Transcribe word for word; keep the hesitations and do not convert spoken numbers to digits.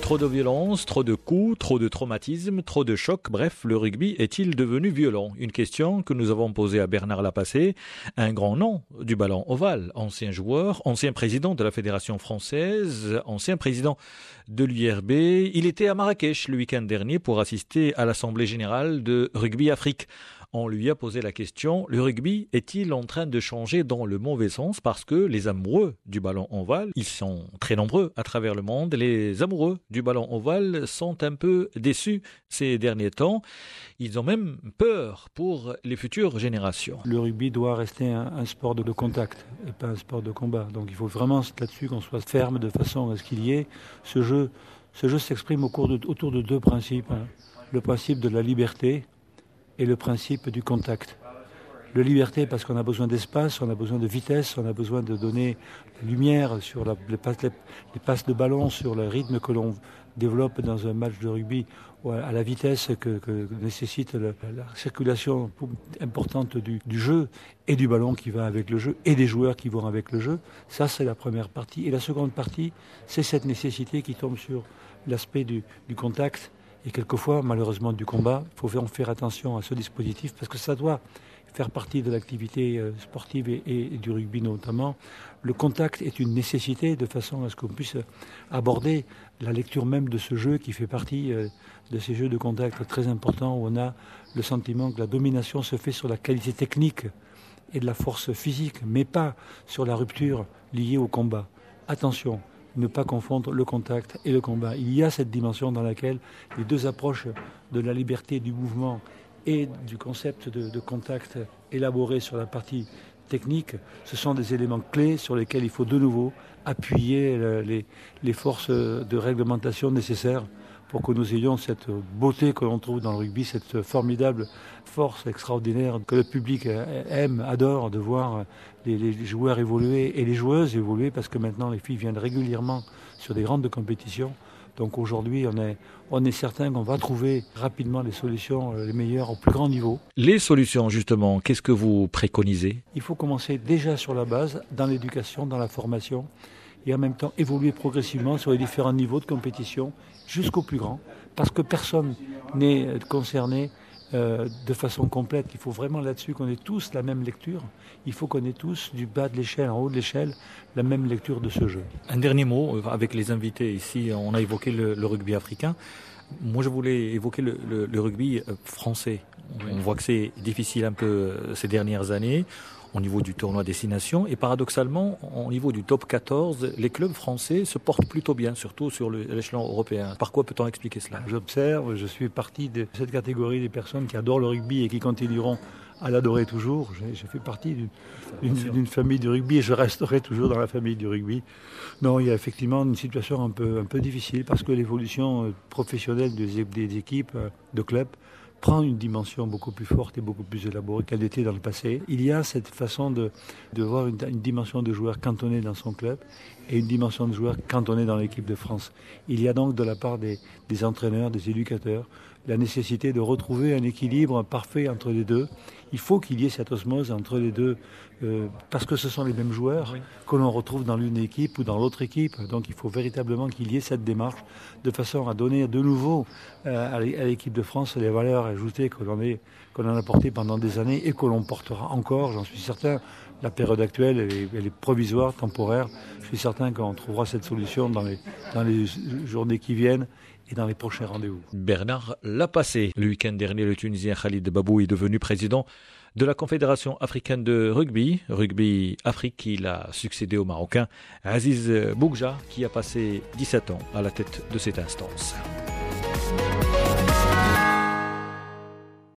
trop de violence, trop de coups, trop de traumatismes, trop de chocs. Bref, le rugby est-il devenu violent? Une question que nous avons posée à Bernard Lapassé, un grand nom du ballon ovale, ancien joueur, ancien président de la Fédération française, ancien président de l'U R B. Il était à Marrakech le week-end dernier pour assister à l'Assemblée générale de Rugby Afrique. On lui a posé la question, le rugby est-il en train de changer dans le mauvais sens? Parce que les amoureux du ballon ovale, ils sont très nombreux à travers le monde. Les amoureux du ballon ovale sont un peu déçus ces derniers temps. Ils ont même peur pour les futures générations. Le rugby doit rester un, un sport de contact et pas un sport de combat. Donc il faut vraiment là-dessus qu'on soit ferme de façon à ce qu'il y ait ce jeu. Ce jeu s'exprime au cours de, autour de deux principes. Hein. Le principe de la liberté et le principe du contact. La liberté parce qu'on a besoin d'espace, on a besoin de vitesse, on a besoin de donner lumière sur la, les, passes, les, les passes de ballon, sur le rythme que l'on développe dans un match de rugby, ou à la vitesse que, que nécessite le, la circulation importante du, du jeu et du ballon qui va avec le jeu et des joueurs qui vont avec le jeu. Ça, c'est la première partie. Et la seconde partie, c'est cette nécessité qui tombe sur l'aspect du, du contact et quelquefois, malheureusement, du combat. Il faut faire attention à ce dispositif parce que ça doit faire partie de l'activité sportive et, et du rugby notamment. Le contact est une nécessité de façon à ce qu'on puisse aborder la lecture même de ce jeu qui fait partie de ces jeux de contact très importants où on a le sentiment que la domination se fait sur la qualité technique et de la force physique, mais pas sur la rupture liée au combat. Attention, ne pas confondre le contact et le combat. Il y a cette dimension dans laquelle les deux approches de la liberté du mouvement et du concept de, de contact élaboré sur la partie technique, ce sont des éléments clés sur lesquels il faut de nouveau appuyer les, les forces de réglementation nécessaires pour que nous ayons cette beauté que l'on trouve dans le rugby, cette formidable force extraordinaire que le public aime, adore de voir les, les joueurs évoluer et les joueuses évoluer parce que maintenant les filles viennent régulièrement sur des grandes compétitions. Donc aujourd'hui, on est, on est certain qu'on va trouver rapidement les solutions les meilleures au plus grand niveau. Les solutions, justement, qu'est-ce que vous préconisez? Il faut commencer déjà sur la base, dans l'éducation, dans la formation, et en même temps évoluer progressivement sur les différents niveaux de compétition jusqu'au plus grand, parce que personne n'est concerné euh, de façon complète. Il faut vraiment là-dessus qu'on ait tous la même lecture. Il faut qu'on ait tous, du bas de l'échelle en haut de l'échelle, la même lecture de ce jeu. Un dernier mot, avec les invités ici, on a évoqué le, le rugby africain. Moi, je voulais évoquer le, le, le rugby français. On voit que c'est difficile un peu ces dernières années au niveau du tournoi Destination et paradoxalement, au niveau du top quatorze, les clubs français se portent plutôt bien, surtout sur l'échelon européen. Par quoi peut-on expliquer cela? J'observe, je suis partie de cette catégorie des personnes qui adorent le rugby et qui continueront à l'adorer toujours. Je, je fais partie d'une, d'une, d'une famille du rugby et je resterai toujours dans la famille du rugby. Non, il y a effectivement une situation un peu, un peu difficile parce que l'évolution professionnelle des, des équipes, de clubs, prend une dimension beaucoup plus forte et beaucoup plus élaborée qu'elle était dans le passé. Il y a cette façon de, de voir une, une dimension de joueur cantonné dans son club et une dimension de joueur cantonné dans l'équipe de France. Il y a donc de la part des, des entraîneurs, des éducateurs, la nécessité de retrouver un équilibre parfait entre les deux. Il faut qu'il y ait cette osmose entre les deux, euh, parce que ce sont les mêmes joueurs oui. que l'on retrouve dans l'une équipe ou dans l'autre équipe. Donc il faut véritablement qu'il y ait cette démarche de façon à donner de nouveau euh, à l'équipe de France les valeurs ajoutées que l'on, est, que l'on a portées pendant des années et que l'on portera encore, j'en suis certain. La période actuelle, elle est, elle est provisoire, temporaire. Je suis certain qu'on trouvera cette solution dans les, dans les journées qui viennent et dans les prochains rendez-vous. Bernard Lapassé. Le week-end dernier, le Tunisien Khalid Babou est devenu président de la Confédération africaine de rugby, Rugby Afrique. Il a succédé au Marocain Aziz Bougja, qui a passé dix-sept ans à la tête de cette instance.